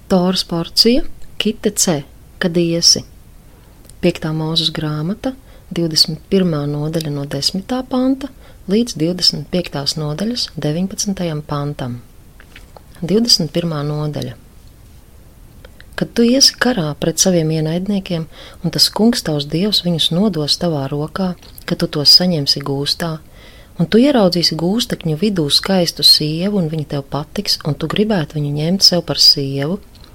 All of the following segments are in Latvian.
Toras porcija, kite C, kad iesi. 5. Mūzes grāmata, 21. nodaļa no 10. panta līdz 25. nodaļas 19. pantam. 21. nodaļa. Kad tu iesi karā pret saviem ienaidniekiem, un tas kungs tavs dievs viņus nodos tavā rokā, ka tu tos saņemsi gūstā, un tu ieraudzīsi gūstekņu vidū skaistu sievu, un viņa tev patiks, un tu gribētu viņu ņemt sev par sievu,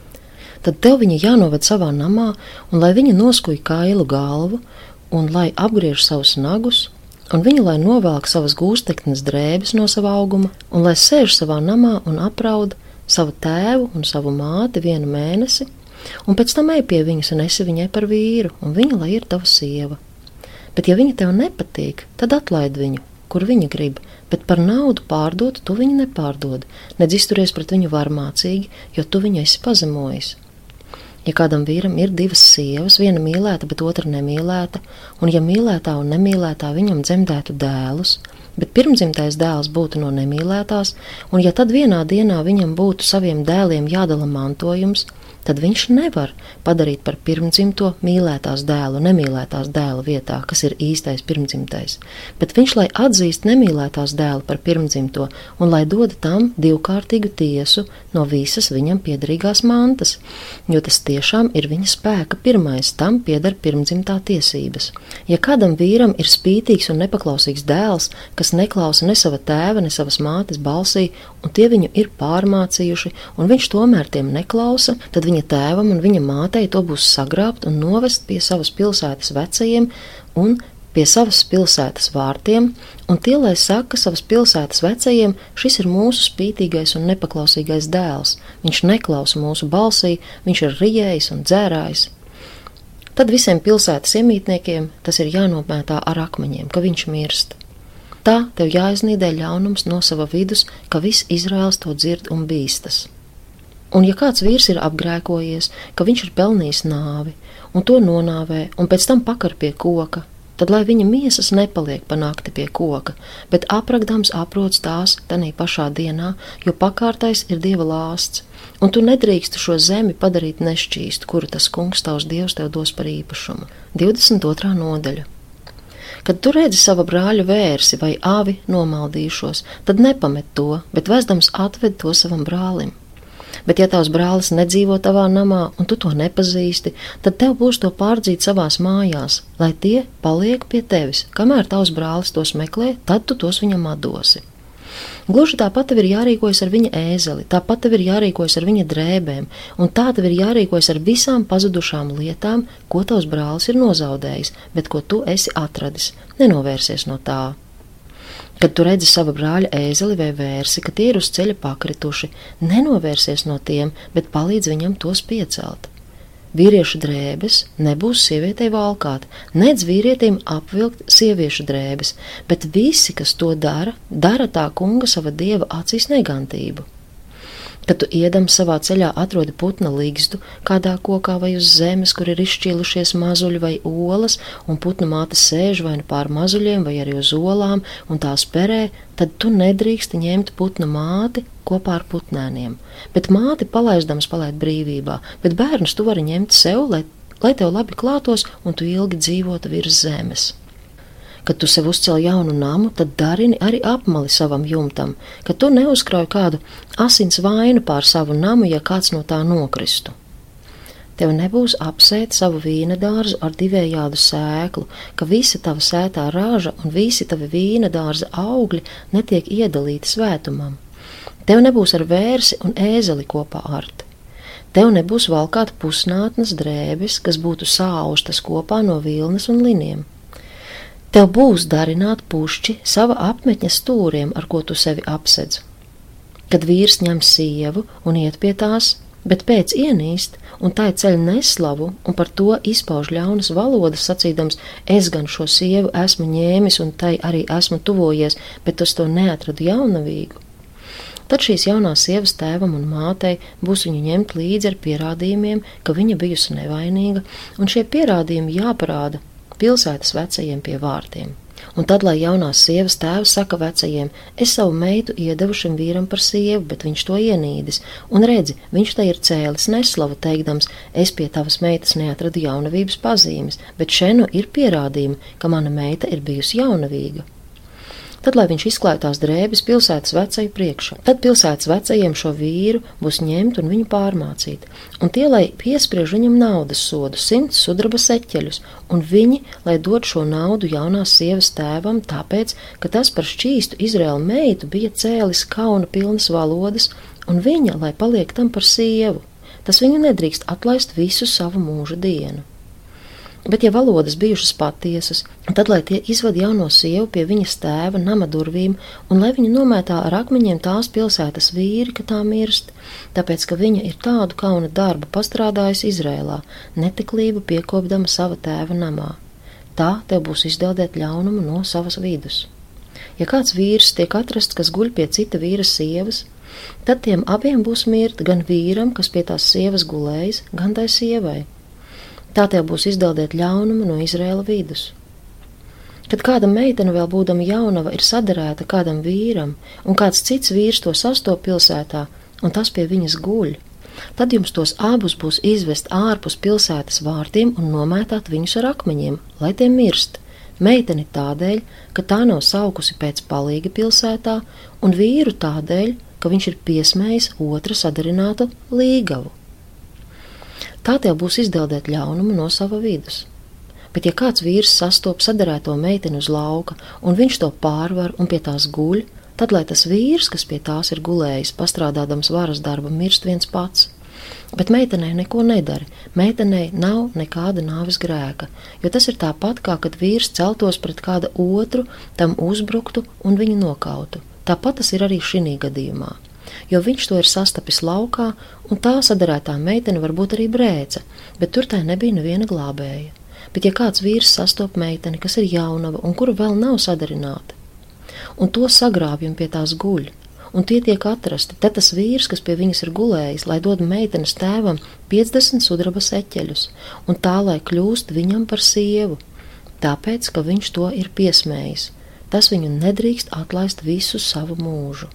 tad tev viņa jānoved savā namā, un lai viņa noskuj kailu galvu, un lai apgriež savus nagus, un viņa lai novelk savas gūsteknes drēbes no sava auguma, un lai sēž savā namā un apraud savu tēvu un savu māti 1 mēnesi, un pēc tam ej pie viņas un esi viņai par vīru, un viņa lai ir tava sieva. Bet ja viņa tev nepatīk, tad atlaid viņu, kur viņa grib, bet par naudu pārdot tu viņu nepārdod, nedz izturies pret viņu varmācīgi, jo tu viņu esi pazemojis. Ja kādam vīram ir 2 sievas, viena mīlēta, bet otra nemīlēta, un ja mīlētā un nemīlētā viņam dzemdētu dēlus, bet pirmdzimtais dēls būtu no nemīlētās, un ja tad vienā dienā viņam būtu saviem dēliem jādala mantojums, tad viņš nevar padarīt par pirmdzimto mīlētās dēlu nemīlētās dēla vietā, kas ir īstais pirmdzimtais, bet viņš lai atzīst nemīlētās dēlu par pirmdzimto un lai dod tam 2kārtīgu tiesu no visas viņam piederīgās mantas, jo tas tiešām ir viņa spēka pirmais, tam pieder pirmdzimtā tiesības. Ja kādam vīram ir spītīgs un nepaklausīgs dēls, kas neklausa ne sava tēva, ne savas mātes balsī, un tie viņu ir pārmācījuši, un viņš tomēr tiem neklausa, tad viņa tēvam un viņa mātei to būs sagrābt un novest pie savas pilsētas vecajiem un pie savas pilsētas vārtiem, un tie, lai saka savas pilsētas vecajiem, šis ir mūsu spītīgais un nepaklausīgais dēls, viņš neklausa mūsu balsī, viņš ir rijējis un dzērājis. Tad visiem pilsētas iemītniekiem tas ir jānomētā ar akmeņiem, ka viņš mirst. Tā tev jāiznīdē ļaunums no sava vidus, ka viss Izraels to dzird un bīstas. Un ja kāds vīrs ir apgrēkojies, ka viņš ir pelnījis nāvi, un to nonāvē, un pēc tam pakar pie koka, tad lai viņa miesas nepaliek pa nakti pie koka, bet apragdams aproc tās tanī pašā dienā, jo pakārtais ir Dieva lāsts, un tu nedrīksti šo zemi padarīt nešķīstu, kuru tas kungs tavs Dievs tev dos par īpašumu. 22. nodaļa. Kad tu redzi sava brāļa vērsi vai avi nomaldīšos, tad nepamet to, bet vesdams atved to savam brālim. Bet ja tavs brālis nedzīvo tavā namā, un tu to nepazīsti, tad tev būs to pārdzīt savās mājās, lai tie paliek pie tevis. Kamēr tavs brālis tos meklē, tad tu tos viņam atdosi. Gluži tāpat tev ir jārīkojas ar viņa ēzeli, tāpat tev ir jārīkojas ar viņa drēbēm, un tā tev ir jārīkojas ar visām pazudušām lietām, ko tavs brālis ir nozaudējis, bet ko tu esi atradis. Nenovērsies no tā. Kad tu redzi sava brāļa ēzeli vai vērsi, ka tie ir uz ceļa pakrituši, nenovērsies no tiem, bet palīdz viņam tos piecelt. Vīriešu drēbes nebūs sievietei valkāt, nedz vīrietim apvilkt sieviešu drēbes, bet visi, kas to dara, dara tā kunga sava dieva acīs negantību. Kad tu iedam savā ceļā atrodi putna ligzdu kādā kokā vai uz zemes, kur ir izšķīlušies mazuļi vai olas, un putna māte sēž vai nu pār mazuļiem vai arī uz olām un tās perē, tad tu nedrīksti ņemt putna māti kopā ar putnēniem. Bet māti palaidams palaid brīvībā, bet bērnus tu vari ņemt sev, lai tev labi klātos un tu ilgi dzīvotu virs zemes. Kad tu sev uzcel jaunu namu, tad darini arī apmali savam jumtam, ka tu neuzkrauj kādu asins vainu pār savu namu, ja kāds no tā nokristu. Tev nebūs apsēt savu vīna dārzu ar divējādu sēklu, ka visa tava sētā raža un visi tavi vīna dārza augļi netiek iedalīti svētumam. Tev nebūs ar vērsi un ēzeli kopā art. Tev nebūs valkāt pusnātnes drēbes, kas būtu sāustas kopā no vilnas un liniem. Tev būs darināt pušķi sava apmetņa stūriem, ar ko tu sevi apsedz. Kad vīrs ņem sievu un iet pie tās, bet pēc ienīst un tai ceļ neslavu un par to izpauž ļaunas valodas sacīdams, es gan šo sievu esmu ņēmis un tai arī esmu tuvojies, bet es to neatradu jaunavīgu. Tad šīs jaunās sievas tēvam un mātei būs viņu ņemt līdzi ar pierādījumiem, ka viņa bijusi nevainīga, un šie pierādījumi jāparāda pilsētas vecajiem pie vārtiem. Un tad, lai jaunās sievas tēvs saka vecajiem, es savu meitu iedevu šim vīram par sievu, bet viņš to ienīdis, un redzi, viņš te ir cēlis neslavu, teikdams, es pie tavas meitas neatradu jaunavības pazīmes, bet šenu ir pierādījumi, ka mana meita ir bijusi jaunavīga. Tad, lai viņš izklāj tās drēbes pilsētas vecaju priekšā, tad pilsētas vecajiem šo vīru būs ņemt un viņu pārmācīt, un tie, lai piespriež viņam naudas sodu 100 sudraba seķeļus, un viņi, lai dod šo naudu jaunās sievas tēvam, tāpēc, ka tas par šķīstu Izraēla meitu bija cēlis kauna pilnas valodas, un viņa, lai paliek tam par sievu, tas viņu nedrīkst atlaist visu savu mūža dienu. Bet, ja valodas bijušas patiesas, tad, lai tie izved jauno sievu pie viņas tēva nama durvīm, un lai viņa nomētā ar akmeņiem tās pilsētas vīri, ka tā mirst, tāpēc, ka viņa ir tādu kauna darbu pastrādājusi Izrēlā, netiklību piekopdama sava tēva namā. Tā tev būs izdeldēt ļaunumu no savas vidus. Ja kāds vīrs tiek atrasts, kas guļ pie cita vīra sievas, tad tiem abiem būs mirt gan vīram, kas pie tās sievas gulējis, gan tai sievai. Tā tev būs izdeldēt ļaunumu no Izraēla vidus. Kad kāda meitene vēl būdama jaunava ir saderēta kādam vīram, un kāds cits vīrs to sastop pilsētā, un tas pie viņas guļ, tad jums tos abus būs izvest ārpus pilsētas vārtiem un nomētāt viņus ar akmeņiem, lai tie mirst. Meiteni tādēļ, ka tā nav saukusi pēc palīga pilsētā, un vīru tādēļ, ka viņš ir piesmējis otra sadarinātu līgavu. Tā tev būs izdeldēt ļaunumu no sava vidus. Bet ja kāds vīrs sastop sadarēto meiteni uz lauka, un viņš to pārvar un pie tās guļ, tad, lai tas vīrs, kas pie tās ir gulējis, pastrādādams varas darba, mirst viens pats. Bet meitenei neko nedari, meitenei nav nekāda nāves grēka, jo tas ir tāpat, kā kad vīrs celtos pret kāda otru, tam uzbruktu un viņu nokautu. Tāpat tas ir arī šinī gadījumā. Jo viņš to ir sastapis laukā, un tā sadarētā meitene varbūt arī brēca, bet tur tai nebija neviena glābēja. Bet ja kāds vīrs sastop meiteni, kas ir jaunava un kura vēl nav sadarināta, un to sagrābj un pie tās guļ, un tie tiek atrasti, tad tas vīrs, kas pie viņas ir gulējis, lai dod meitenes tēvam 50 sudraba seķeļus, un tā, lai kļūst viņam par sievu, tāpēc, ka viņš to ir piesmējis, tas viņu nedrīkst atlaist visu savu mūžu.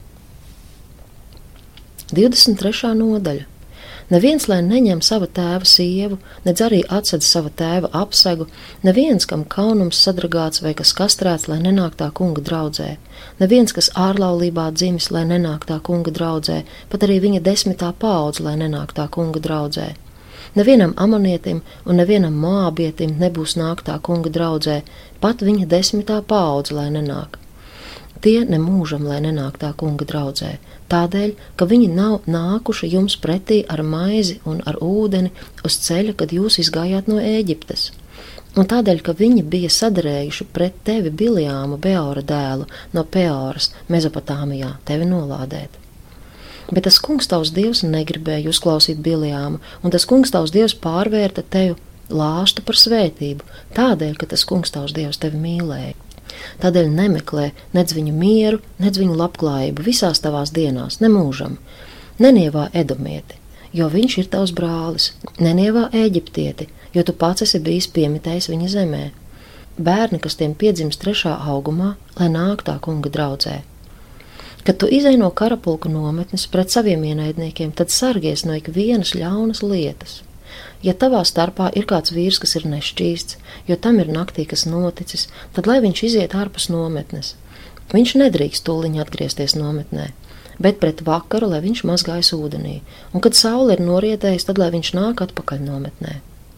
23. nodaļa. Neviens, lai neņem sava tēva sievu, nedz arī atsedz sava tēva apsegu, neviens, kam kaunums sadragāts vai kas kastrēts, lai nenāk tā kunga draudzē, neviens, kas ārlaulībā dzimis, lai nenāk tā kunga draudzē, pat arī viņa 10. paudze, lai nenāk tā kunga draudzē. Nevienam amonietim un nevienam moābietim nebūs nāk tā kunga draudzē, pat viņa 10. paudze, lai nenāk. Tie nemūžam, lai nenāk tā kunga draudzē, tādēļ, ka viņi nav nākuši jums pretī ar maizi un ar ūdeni uz ceļa, kad jūs izgājāt no Ēģiptes. Un tādēļ, ka viņi bija sadarējuši pret tevi Biljāmu, Beora dēlu, no Peoras, Mezopotāmijā, tevi nolādēt. Bet tas kungs tavs Dievs negribēja uzklausīt Biljāmu, un tas kungs tavs Dievs pārvērta tevi lāstu par svētību, tādēļ, ka tas kungs tavs Dievs tevi mīlēja. Tādēļ nemeklē nedz viņu mieru, nedz viņu labklājību visās tavās dienās, nemūžam. Nenievā edomieti, jo viņš ir tavs brālis, nenievā Ēģiptieti, jo tu pats esi bijis piemitējis viņa zemē. Bērni, kas tiem piedzimst 3. augumā, lai nāk tā kunga draudzē. Kad tu izej no karapulku nometnes pret saviem ienaidniekiem, tad sargies no ikvienas ļaunas lietas. Ja tavā starpā ir kāds vīrs, kas ir nešķīsts, jo tam ir naktī kas noticis, tad lai viņš iziet ārpus nometnes. Viņš nedrīkst tūliņ atgriezties nometnē, bet pret vakaru, lai viņš mazgājas ūdenī, un kad saule ir norietējusi, tad lai viņš nāk atpakaļ nometnē.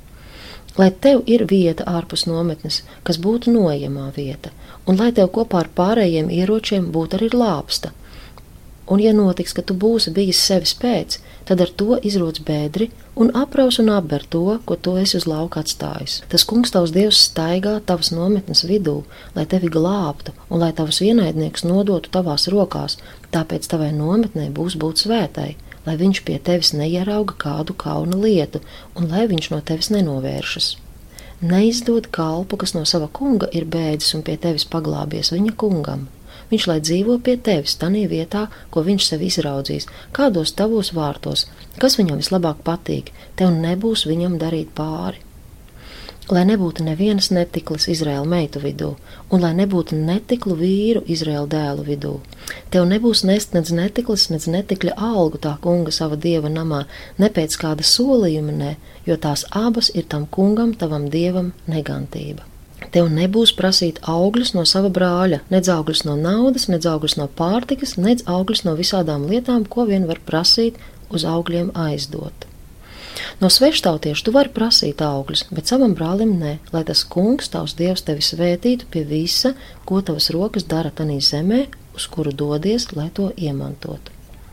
Lai tev ir vieta ārpus nometnes, kas būtu noejamā vieta, un lai tev kopā ar pārējiem ieročiem būtu arī lāpsta. Un ja notiks, ka tu būsi bijis sevis pēc, tad ar to izroc bēdri un apraus un apber to, ko tu esi uz lauka atstājis. Tas kungs tavs Dievs staigā tavas nometnes vidū, lai tevi glābtu un lai tavus ienaidniekus nodotu tavās rokās, tāpēc tavai nometnei būs būt svētai, lai viņš pie tevis neierauga kādu kauna lietu un lai viņš no tevis nenovēršas. Neizdod kalpu, kas no sava kunga ir bēdzis un pie tevis paglābies viņa kungam. Viņš lai dzīvo pie tevis tanī vietā, ko viņš sev izraudzīs, kādos tavos vārtos, kas viņam vislabāk patīk, tev nebūs viņam darīt pāri. lai nebūtu nevienas netiklas Izraēla meitu vidū, un lai nebūtu netiklu vīru Izraēla dēlu vidū. Tev nebūs nest nec netiklas, nec netikļa algu tā kunga sava dieva namā, ne pēc kāda solījuma, ne, jo tās abas ir tam kungam, tavam dievam, negantība. Tev nebūs prasīt augļus no sava brāļa, nedz augļus no naudas, nedz augļus no pārtikas, nedz augļus no visādām lietām, ko vien var prasīt, uz augļiem aizdot. No sveštautiešu tu vari prasīt augļus, bet savam brālim ne, lai tas kungs, tavs dievs, tevi svētītu pie visa, ko tavas rokas dara tanī zemē, uz kuru dodies, lai to iemantotu.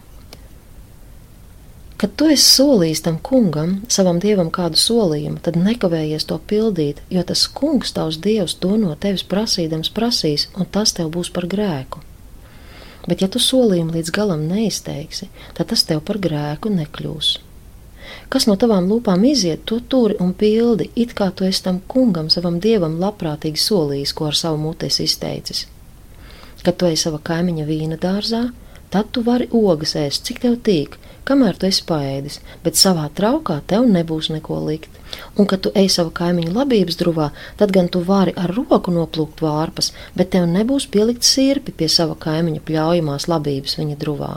Kad tu esi solījis tam kungam, savam dievam kādu solījumu, tad nekavējies to pildīt, jo tas kungs, tavs dievs, to no tevis prasīdams prasīs, un tas tev būs par grēku. Bet ja tu solījumu līdz galam neizteiksi, tad tas tev par grēku nekļūs. Kas no tavām lūpām iziet, to turi un pildi, it kā tu esi tam kungam, savam dievam labprātīgi solījis, ko ar savu muti esi izteicis. Kad tu ej sava kaimiņa vīna dārzā, tad tu vari ogas ēst, cik tev tīk, kamēr tu esi paēdis, bet savā traukā tev nebūs neko likt. Un, kad tu ej sava kaimiņa labības druvā, tad gan tu vari ar roku noplūkt vārpas, bet tev nebūs pielikt sirpi pie sava kaimiņa pļaujamās labības viņa druvā.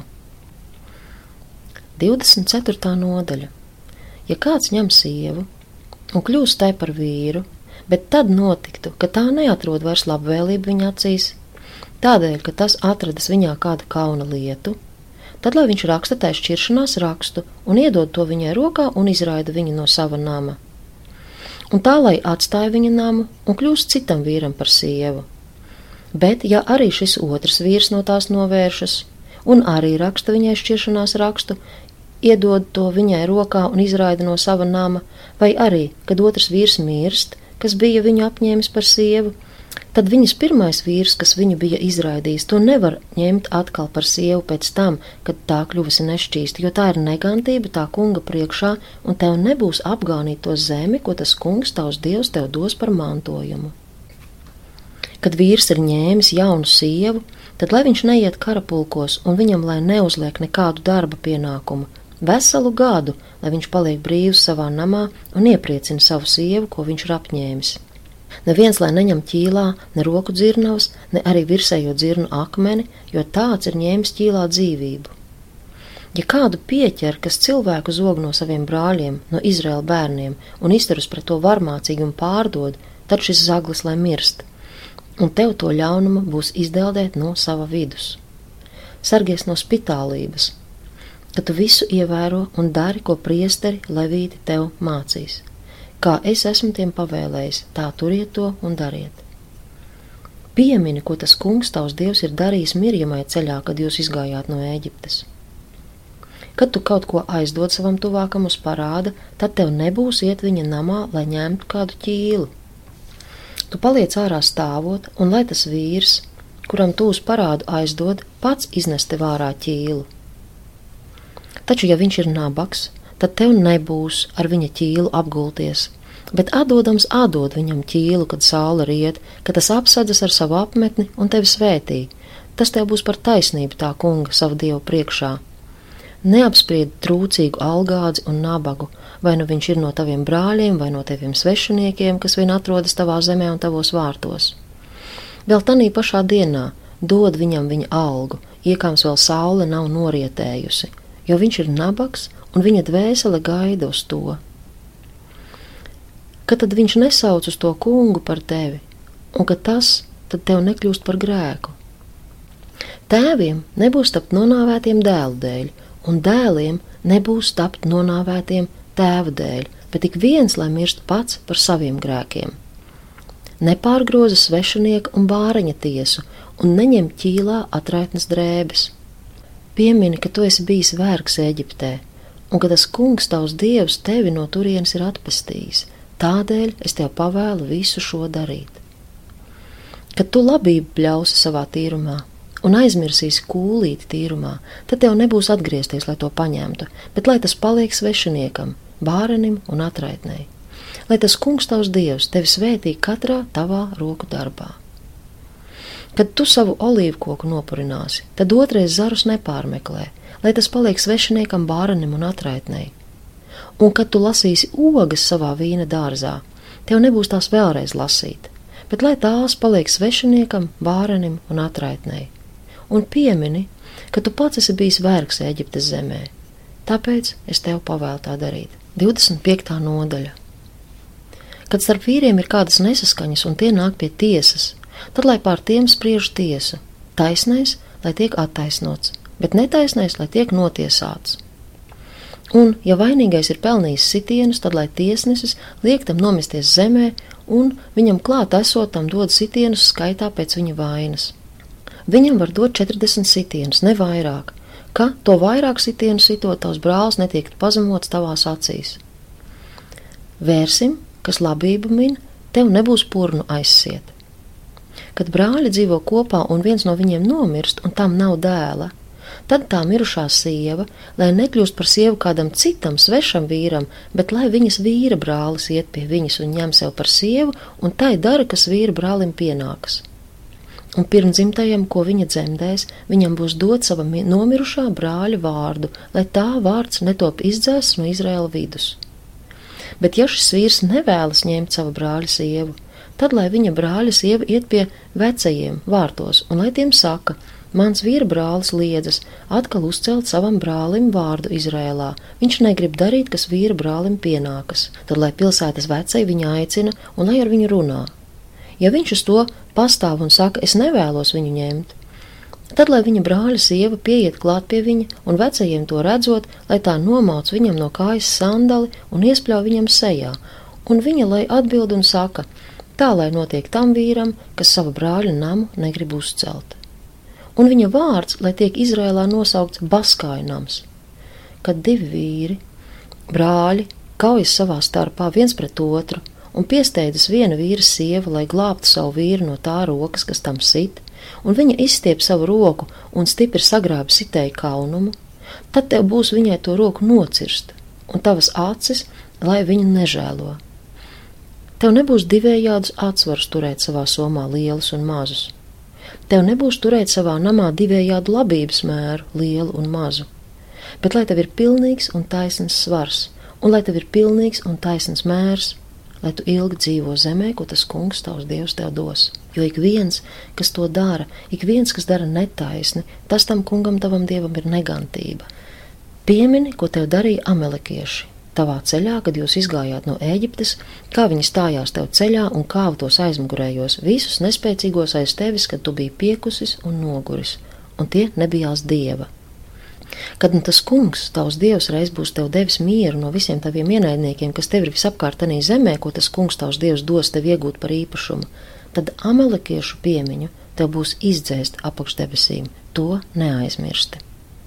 24. nodaļa. Ja kāds ņem sievu un kļūst tai par vīru, bet tad notiktu, ka tā neatrod vairs labvēlību viņa acīs, tādēļ, ka tas atradis viņā kādu kauna lietu, tad, lai viņš raksta tai šķiršanās rakstu un iedod to viņai rokā un izraida viņu no sava nama. Un tā, lai atstāja viņa namu un kļūst citam vīram par sievu. Bet, ja arī šis otrs vīrs no tās novēršas un arī raksta viņai šķiršanās rakstu, iedod to viņai rokā un izraida no sava nama, vai arī, kad otrs vīrs mirst, kas bija viņu apņēmis par sievu, tad viņas pirmais vīrs, kas viņu bija izraidījis, to nevar ņemt atkal par sievu pēc tam, kad tā kļuvusi nešķīsta, jo tā ir negantība tā kunga priekšā, un tev nebūs apgānīt to zemi, ko tas kungs, tavs dievs, tev dos par mantojumu. Kad vīrs ir ņēmis jaunu sievu, tad lai viņš neiet karapulkos, un viņam lai neuzliek nekādu darba pienākumu, veselu gadu, lai viņš paliek brīvs savā namā un iepriecina savu sievu, ko viņš ir apņēmis. Neviens, lai neņem ķīlā ne roku dzirnavas, ne arī virsējo dzirnu akmeni, jo tāds ir ņēmis ķīlā dzīvību. Ja kādu pieķer, kas cilvēku zog no saviem brāļiem, no Izraēla bērniem, un izturas pret to varmācīgi un pārdod, tad šis zaglis lai mirst, un tev to ļaunuma būs izdeldēt no sava vidus. Sargies no spitālības, ka tu visu ievēro un dari, ko priesteri levīti tev mācīs. Kā es esmu tiem pavēlējis, tā turiet to un dariet. Piemini, ko tas kungs, tavs dievs, ir darījis Mirjamai ceļā, kad jūs izgājāt no Ēģiptes. Kad tu kaut ko aizdod savam tuvākam uz parāda, tad tev nebūs iet viņa namā, lai ņemtu kādu ķīlu. Tu paliec ārā stāvot, un lai tas vīrs, kuram tu uz parādu aizdod, pats iznes tev ārā ķīlu. Taču, ja viņš ir nabaks, tad tev nebūs ar viņa ķīlu apgulties, bet atdodams atdod viņam ķīlu, kad saule riet, kad tas apsadzas ar savu apmetni un tevi svētī. Tas tev būs par taisnību tā kunga savu dievu priekšā. Neapspried trūcīgu algādzi un nabagu, vai nu viņš ir no taviem brāļiem, vai no taviem svešiniekiem, kas vien atrodas tavā zemē un tavos vārtos. Vēl tanī pašā dienā dod viņam viņa algu, iekāms vēl saule nav norietējusi, jo viņš ir nabaks un viņa dvēsele gaida uz to. Kad tad viņš nesauc uz to kungu par tevi, un ka tas tad tev nekļūst par grēku. Tēviem nebūs tapt nonāvētiem dēlu dēļ, un dēliem nebūs tapt nonāvētiem tēva dēļ, bet tik viens, lai mirst pats par saviem grēkiem. Nepārgroza svešinieka un bāreņa tiesu, un neņem ķīlā atraitnes drēbes. Piemini, ka tu esi bijis vergs Eģiptē, un ka tas kungs, tavs dievs, tevi no turienes ir atpestījis. Tādēļ es tev pavēlu visu šo darīt. Kad tu labību bļausi savā tīrumā un aizmirsīsi kūlīti tīrumā, tad tev nebūs atgriezties, lai to paņemtu, bet lai tas paliek svešiniekam, bārenim un atraitnei. Lai tas kungs, tavs dievs, tevi svētī katrā tavā roku darbā. Kad tu savu olīvkoku nopurināsi, tad otrais zarus nepārmeklē, lai tas paliek svešiniekam, bārenim un atraitnei. Un kad tu lasīsi ogas savā vīna dārzā, tev nebūs tās vēlreiz lasīt, bet lai tās paliek svešiniekam, bārenim un atraitnei. Un piemini, ka tu pats esi bijis vergs Ēģiptes zemē. Tāpēc es tev pavēlu tā darīt. 25. nodaļa. Kad starp vīriem ir kādas nesaskaņas un tie nāk pie tiesas, tad lai pār tiem spriež tiesu. Taisnais, lai tiek attaisnots, bet netaisnais, lai tiek notiesāts. Un, ja vainīgais ir pelnījis sitienus, tad lai tiesnesis liek tam nomesties zemē un viņam klāt esotam dod sitienus skaitā pēc viņa vainas. Viņam var dot 40 sitienus, ne vairāk, ka to vairāk sitienu sitot tavs brālis netiek pazemots tavās acīs. Vērsim, kas labību min, tev nebūs purnu aizsiet. Kad brāļi dzīvo kopā un viens no viņiem nomirst un tam nav dēla, tad tā mirušā sieva, lai nekļūst par sievu kādam citam svešam vīram, bet lai viņas vīra brālis iet pie viņas un ņem sev par sievu un tai dara, kas vīra brālim pienākas. Un pirmdzimtajam, ko viņa dzemdēs, viņam būs dot sava nomirušā brāļa vārdu, lai tā vārds netop izdzēsts no Izraēla vidus. Bet ja šis vīrs nevēlas ņemt savu brāļa sievu, tad lai viņa brāļa sieva iet pie vecajiem vārtos un lai tiem saka: mans vīra brālis liedzas atkal uzcelt savam brālim vārdu Izraēlā. Viņš negrib darīt, kas vīra brālim pienākas. Tad lai pilsētas vecai viņu aicina un lai ar viņu runā. Ja viņš uz to pastāv un saka, es nevēlos viņu ņemt, tad lai viņa brāļa sieva pieiet klāt pie viņa un vecajiem to redzot, lai tā nomauc viņam no kājas sandali un iespļauj viņam sejā, un viņa lai atbild un saka, tā lai notiek tam vīram, kas sava brāļa namu negrib uzcelt. Un viņa vārds, lai tiek Izrēlā nosaukts Baskāju nams. Kad divi vīri, brāļi, kaujas savā starpā viens pret otru un piesteidzas viena vīra sieva, lai glābtu savu vīru no tā rokas, kas tam sit, un viņa izstiep savu roku un stipri sagrāb sitēju kaunumu, tad tev būs viņai to roku nocirst, un tavas acis, lai viņu nežēlo. Tev nebūs divējādus atsvarus turēt savā somā lielus un mazus. Tev nebūs turēt savā namā divējādu labības mēru, lielu un mazu, bet lai tev ir pilnīgs un taisns svars, un lai tev ir pilnīgs un taisns mērs, lai tu ilgi dzīvo zemē, ko tas kungs tavs Dievs tev dos. Jo ik viens, kas to dara, ik viens, kas dara netaisni, tas tam kungam tavam Dievam ir negantība. Piemini, ko tev darīja amelekieši tavā ceļā, kad jūs izgājāt no Ēģiptes, kā viņi stājās tev ceļā un kāva tos aizmugurējos, visus nespēcīgos aiz tevis, kad tu biji piekusis un noguris, un tie nebijās Dieva. Kad nu tas kungs, tavs Dievs, reiz būs tev devis mieru no visiem taviem ienaidniekiem, kas tev ir visapkārtanī zemē, ko tas kungs, tavs Dievs, dos tev iegūt par īpašumu, tad amelekiešu piemiņu tev būs izdzēst apakš debesīm. To neaizmirsti.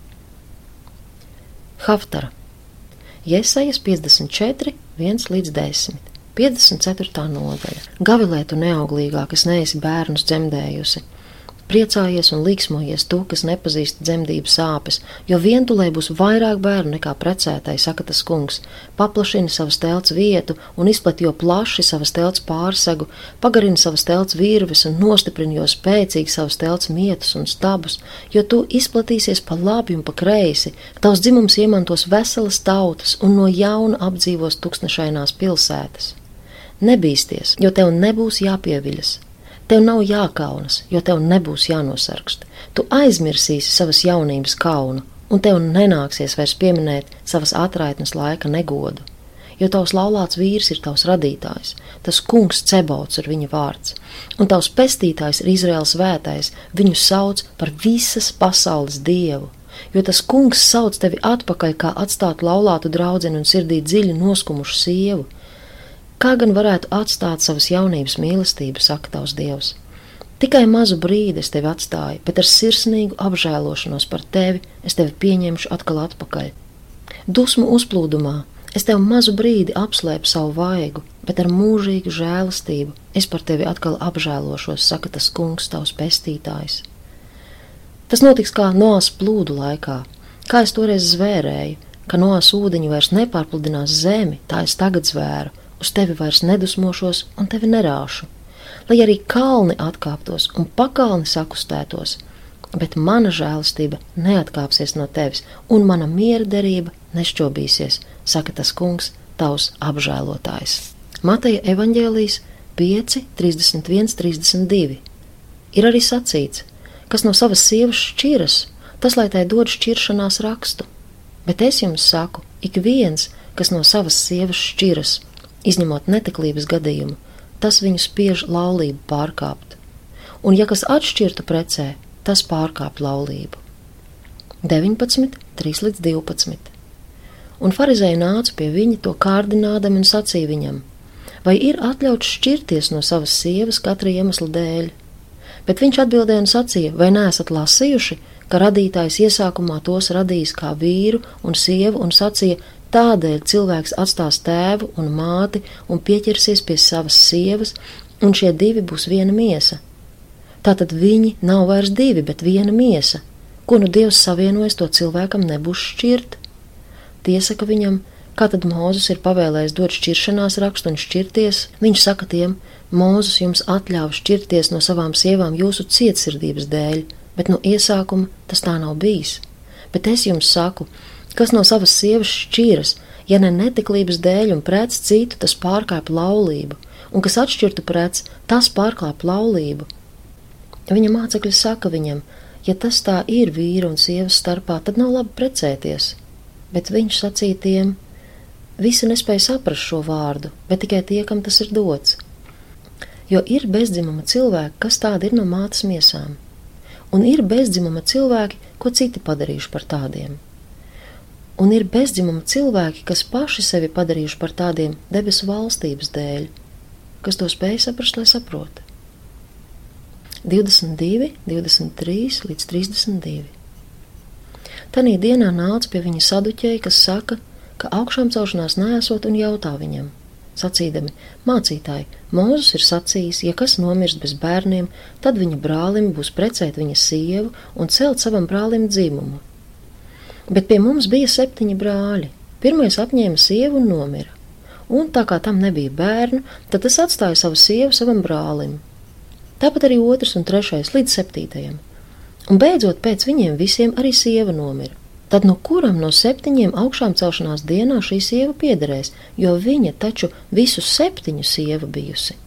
Haftara. Jesajas 54, 1-10. 54. nodaļa. Gavilē tu neauglīgā, kas neesi bērnus dzemdējusi. Priecājies un līksmojies tu, kas nepazīst dzemdības sāpes, jo vientulē būs vairāk bērnu nekā precētai, saka tas kungs. Paplašini savas telts vietu un izplat jo plaši savas telts pārsegu, pagarini savas telts virves un nostiprini jo spēcīgi savas telts mietus un stabus, jo tu izplatīsies pa labi un pa kreisi, tavs dzimums iemantos veselas tautas un no jauna apdzīvos tūkstnešainās pilsētas. Nebīsties, jo tev nebūs jāpieviļas. Tev nav jākaunas, jo tev nebūs jānosargst. Tu aizmirsīsi savas jaunības kaunu, un tev nenāksies vairs pieminēt savas atraitnes laika negodu. Jo tavs laulāts vīrs ir tavs radītājs, tas kungs Cebauts ir viņa vārds, un tavs pestītājs ir Izraēls svētais, viņu sauc par visas pasaules Dievu. Jo tas kungs sauc tevi atpakaļ, kā atstāt laulātu draudzeni un sirdī dziļi noskumušu sievu. Kā gan varētu atstāt savas jaunības mīlestību, saka tavs Dievs? Tikai mazu brīdi es tevi atstāju, bet ar sirsnīgu apžēlošanos par tevi es tevi pieņemšu atkal atpakaļ. Dusmu uzplūdumā es tev mazu brīdi apslēpu savu vaigu, bet ar mūžīgu žēlastību es par tevi atkal apžēlošos, saka tas kungs tavs pestītājs. Tas notiks kā Noas plūdu laikā, kā es toreiz zvērēju, ka Noas ūdeņi vairs nepārpludinās zemi, tā es tagad zvēru. Uz tevi vairs nedusmošos un tevi nerāšu, lai arī kalni atkāptos un pakalni sakustētos, bet mana žēlastība neatkāpsies no tevis un mana miera derība nešķobīsies, saka tas kungs, tavs apžēlotājs. Mateja evaņģēlijas 5, 31, 32. Ir arī sacīts, kas no savas sievas šķiras, tas lai tai dod šķiršanās rakstu. Bet es jums saku, ik viens, kas no savas sievas šķiras, izņemot neteklības gadījumu, tas viņu spiež laulību pārkāpt. Un ja kas atšķirtu precē, tas pārkāp laulību. 19, 3 līdz 12. Un farizēji nāca pie viņa to kārdinādami un sacīja viņam, vai ir atļauts šķirties no savas sievas katra iemesla dēļ? Bet viņš atbildēja un sacīja, vai neesat lasījuši, ka radītājs iesākumā tos radījis kā vīru un sievu un sacīja, tādēļ cilvēks atstās tēvu un māti un pieķersies pie savas sievas, un šie divi būs viena miesa. Tātad viņi nav vairs divi, bet viena miesa. Ko nu Dievs savienojas, to cilvēkam nebūs šķirt? Tie saka viņam, kā tad Mūzes ir pavēlējis dot šķiršanās rakstu un šķirties? Viņš saka tiem, Mūzes jums atļāva šķirties no savām sievām jūsu cietsirdības dēļ, bet no iesākuma tas tā nav bijis. Bet es jums saku, kas no savas sievas šķiras, ja ne neteklības dēļ un prec citu, tas pārkāp laulību, un kas atšķirtu prec, tas pārkāp laulību. Viņa mācekļi saka viņam, ja tas tā ir vīra un sievas starpā, tad nav labi precēties. Bet viņš sacīja tiem, visi nespēja saprast šo vārdu, bet tikai tie, kam tas ir dots. Jo ir bezdzimuma cilvēki, kas tādi ir no mātes miesām, un ir bezdzimuma cilvēki, ko citi padarījuši par tādiem. Un ir bezdzimuma cilvēki, kas paši sevi padarījuši par tādiem debesu valstības dēļ, kas to spēj saprast, lai saprota. 22, 23 līdz 32. Tanī dienā nāca pie viņa saduķēji, kas saka, ka augšām celšanās neesot un jautā viņam, sacīdami, mācītāji, Mūzes ir sacījis, ja kas nomirst bez bērniem, tad viņa brālim būs precēt viņa sievu un celt savam brālim dzimumu. Bet pie mums bija 7 brāļi. Pirmais apņēma sievu un nomira. Un tā kā tam nebija bērnu, tad tas atstāja savu sievu savam brālim. Tāpat arī 2. un 3. līdz 7. Un beidzot pēc viņiem visiem arī sieva nomira. Tad no kuram no 7 augšām celšanās dienā šī sieva piederēs, jo viņa taču visus 7 sieva bijusi?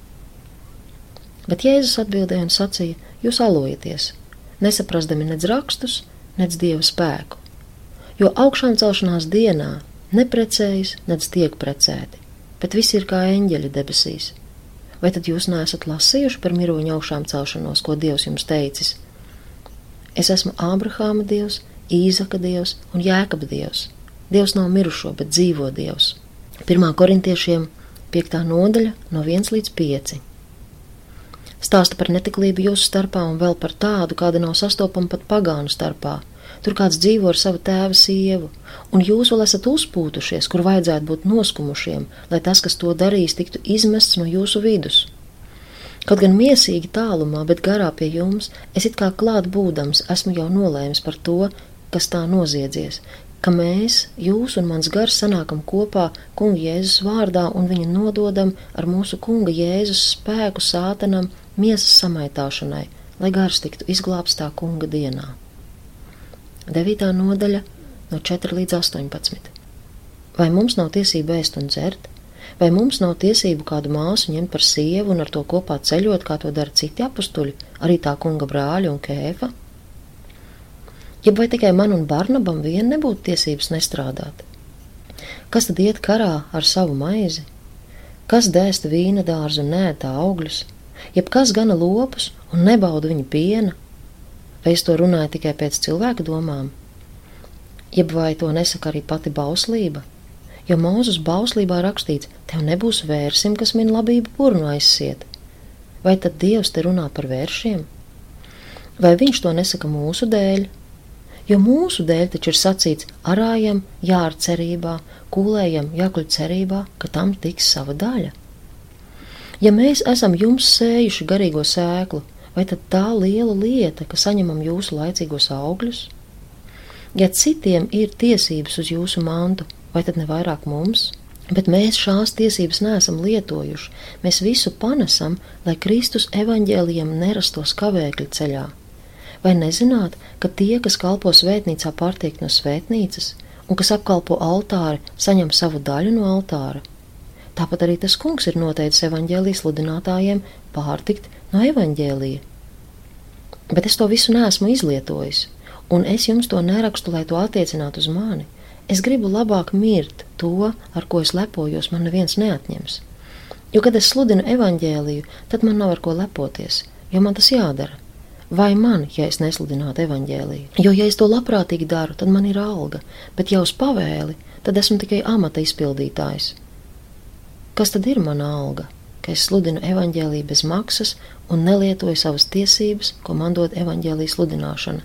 Bet Jēzus atbildēja un sacīja, jūs alojaties, nesaprastami nedz rakstus, nedz Dieva spēku. Jo augšām celšanās dienā neprecējas, nedz tiek precēti, bet visi ir kā eņģeļi debesīs. Vai tad jūs neesat lasījuši par miroņu augšām celšanos, ko Dievs jums teicis? Es esmu Ābrahāma Dievs, Īzaka Dievs un Jēkaba Dievs. Dievs nav mirušo, bet dzīvo Dievs. 1. korintiešiem 5. nodaļa no 1 līdz 5. Stāsta par neteklību jūsu starpā un vēl par tādu, kāda nav sastopama pat pagānu starpā. Tur kāds dzīvo ar savu tēva sievu, un jūs vēl esat uzpūtušies, kur vajadzētu būt noskumušiem, lai tas, kas to darīs, tiktu izmests no jūsu vidus. Kaut gan miesīgi tālumā, bet garā pie jums, es it kā klāt būdams, esmu jau nolēmis par to, kas tā noziedzies, ka mēs, jūs un mans gars sanākam kopā kunga Jēzus vārdā un viņu nododam ar mūsu kunga Jēzus spēku sātanam miesas samaitāšanai, lai gars tiktu izglābts tā kunga dienā. 9. nodaļa no 4 līdz 18. Vai mums nav tiesība ēst un dzert? Vai mums nav tiesību kādu māsu ņemt par sievu un ar to kopā ceļot, kā to dara citi apustuļi, arī tā kunga brāļi un Kēfa? Jeb vai tikai man un Barnabam vien nebūtu tiesības nestrādāt? Kas tad iet karā ar savu maizi? Kas dēsta vīna dārzu un neētā augļus? Jeb kas gana lopus un nebauda viņa piena? Vai es to runāju tikai pēc cilvēka domām? Jeb vai to nesaka arī pati bauslība? Jo Mūzes bauslībā rakstīts, tev nebūs vērsim, kas min labību purnu aizsiet. Vai tad Dievs te runā par vēršiem? Vai viņš to nesaka mūsu dēļ? Jo mūsu dēļ taču ir sacīts, arājam jār cerībā, kūlējam jākuļ cerībā, ka tam tiks sava daļa. Ja mēs esam jums sējuši garīgo sēklu, vai tad tā liela lieta, ka saņemam jūsu laicīgos augļus? Ja citiem ir tiesības uz jūsu mantu, vai tad ne vairāk mums? Bet mēs šās tiesības neesam lietojuši, mēs visu panesam, lai Kristus evaņģēlijam nerastos kavēkļu ceļā. Vai nezināt, ka tie, kas kalpo svētnīcā, pārtiek no svētnīcas, un kas apkalpo altāri, saņem savu daļu no altāra? Tāpat arī tas kungs ir noteicis evaņģēlijas sludinātājiem pārtikt no evaņģēlija. Bet es to visu neesmu izlietojis, un es jums to nerakstu, lai to attiecinātu uz mani. Es gribu labāk mirt to, ar ko es lepojos, man neviens neatņems. Jo, kad es sludinu evaņģēliju, tad man nav ar ko lepoties, jo man tas jādara. Vai man, ja es nesludinātu evaņģēliju? Jo, ja es to labprātīgi daru, tad man ir alga, bet ja uz pavēli, tad esmu tikai amata izpildītājs. Kas tad ir mana alga? Ka es sludinu evaņģēliju bez maksas un nelietoju savas tiesības, ko man dod evaņģēlijas sludināšana.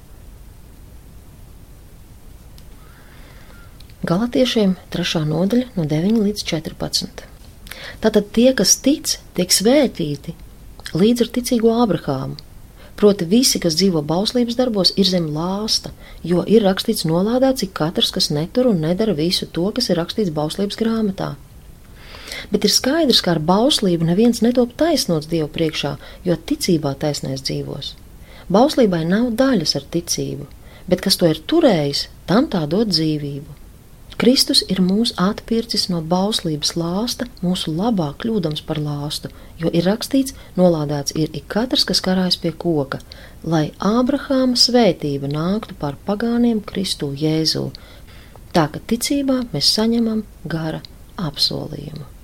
Galatiešiem 3. nodaļa no 9 līdz 14. Tātad tie, kas tic, tiek svētīti līdz ar ticīgo Ābrahāmu. Proti visi, kas dzīvo bauslības darbos, ir zem lāsta, jo ir rakstīts nolādēts ik katrs, kas netur un nedara visu to, kas ir rakstīts bauslības grāmatā. Bet ir skaidrs, ka ar bauslību neviens netop taisnots Dievu priekšā, jo ticībā taisnais dzīvos. Bauslībai nav daļas ar ticību, bet kas to ir turējis, tam tā dod dzīvību. Kristus ir mūs atpircis no bauslības lāsta, mūsu labā kļūdams par lāstu, jo ir rakstīts, nolādēts ir ik katrs, kas karājas pie koka, lai Ābrahāma svētība nāktu pār pagāniem Kristu Jēzū. Tā ka ticībā mēs saņemam gara apsolījumu.